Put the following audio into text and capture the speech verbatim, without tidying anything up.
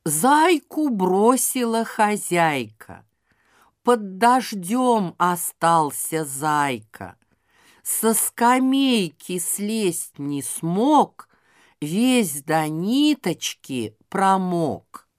Зайку бросила хозяйка, под дождем остался зайка. Со скамейки слезть не смог, весь до ниточки промок.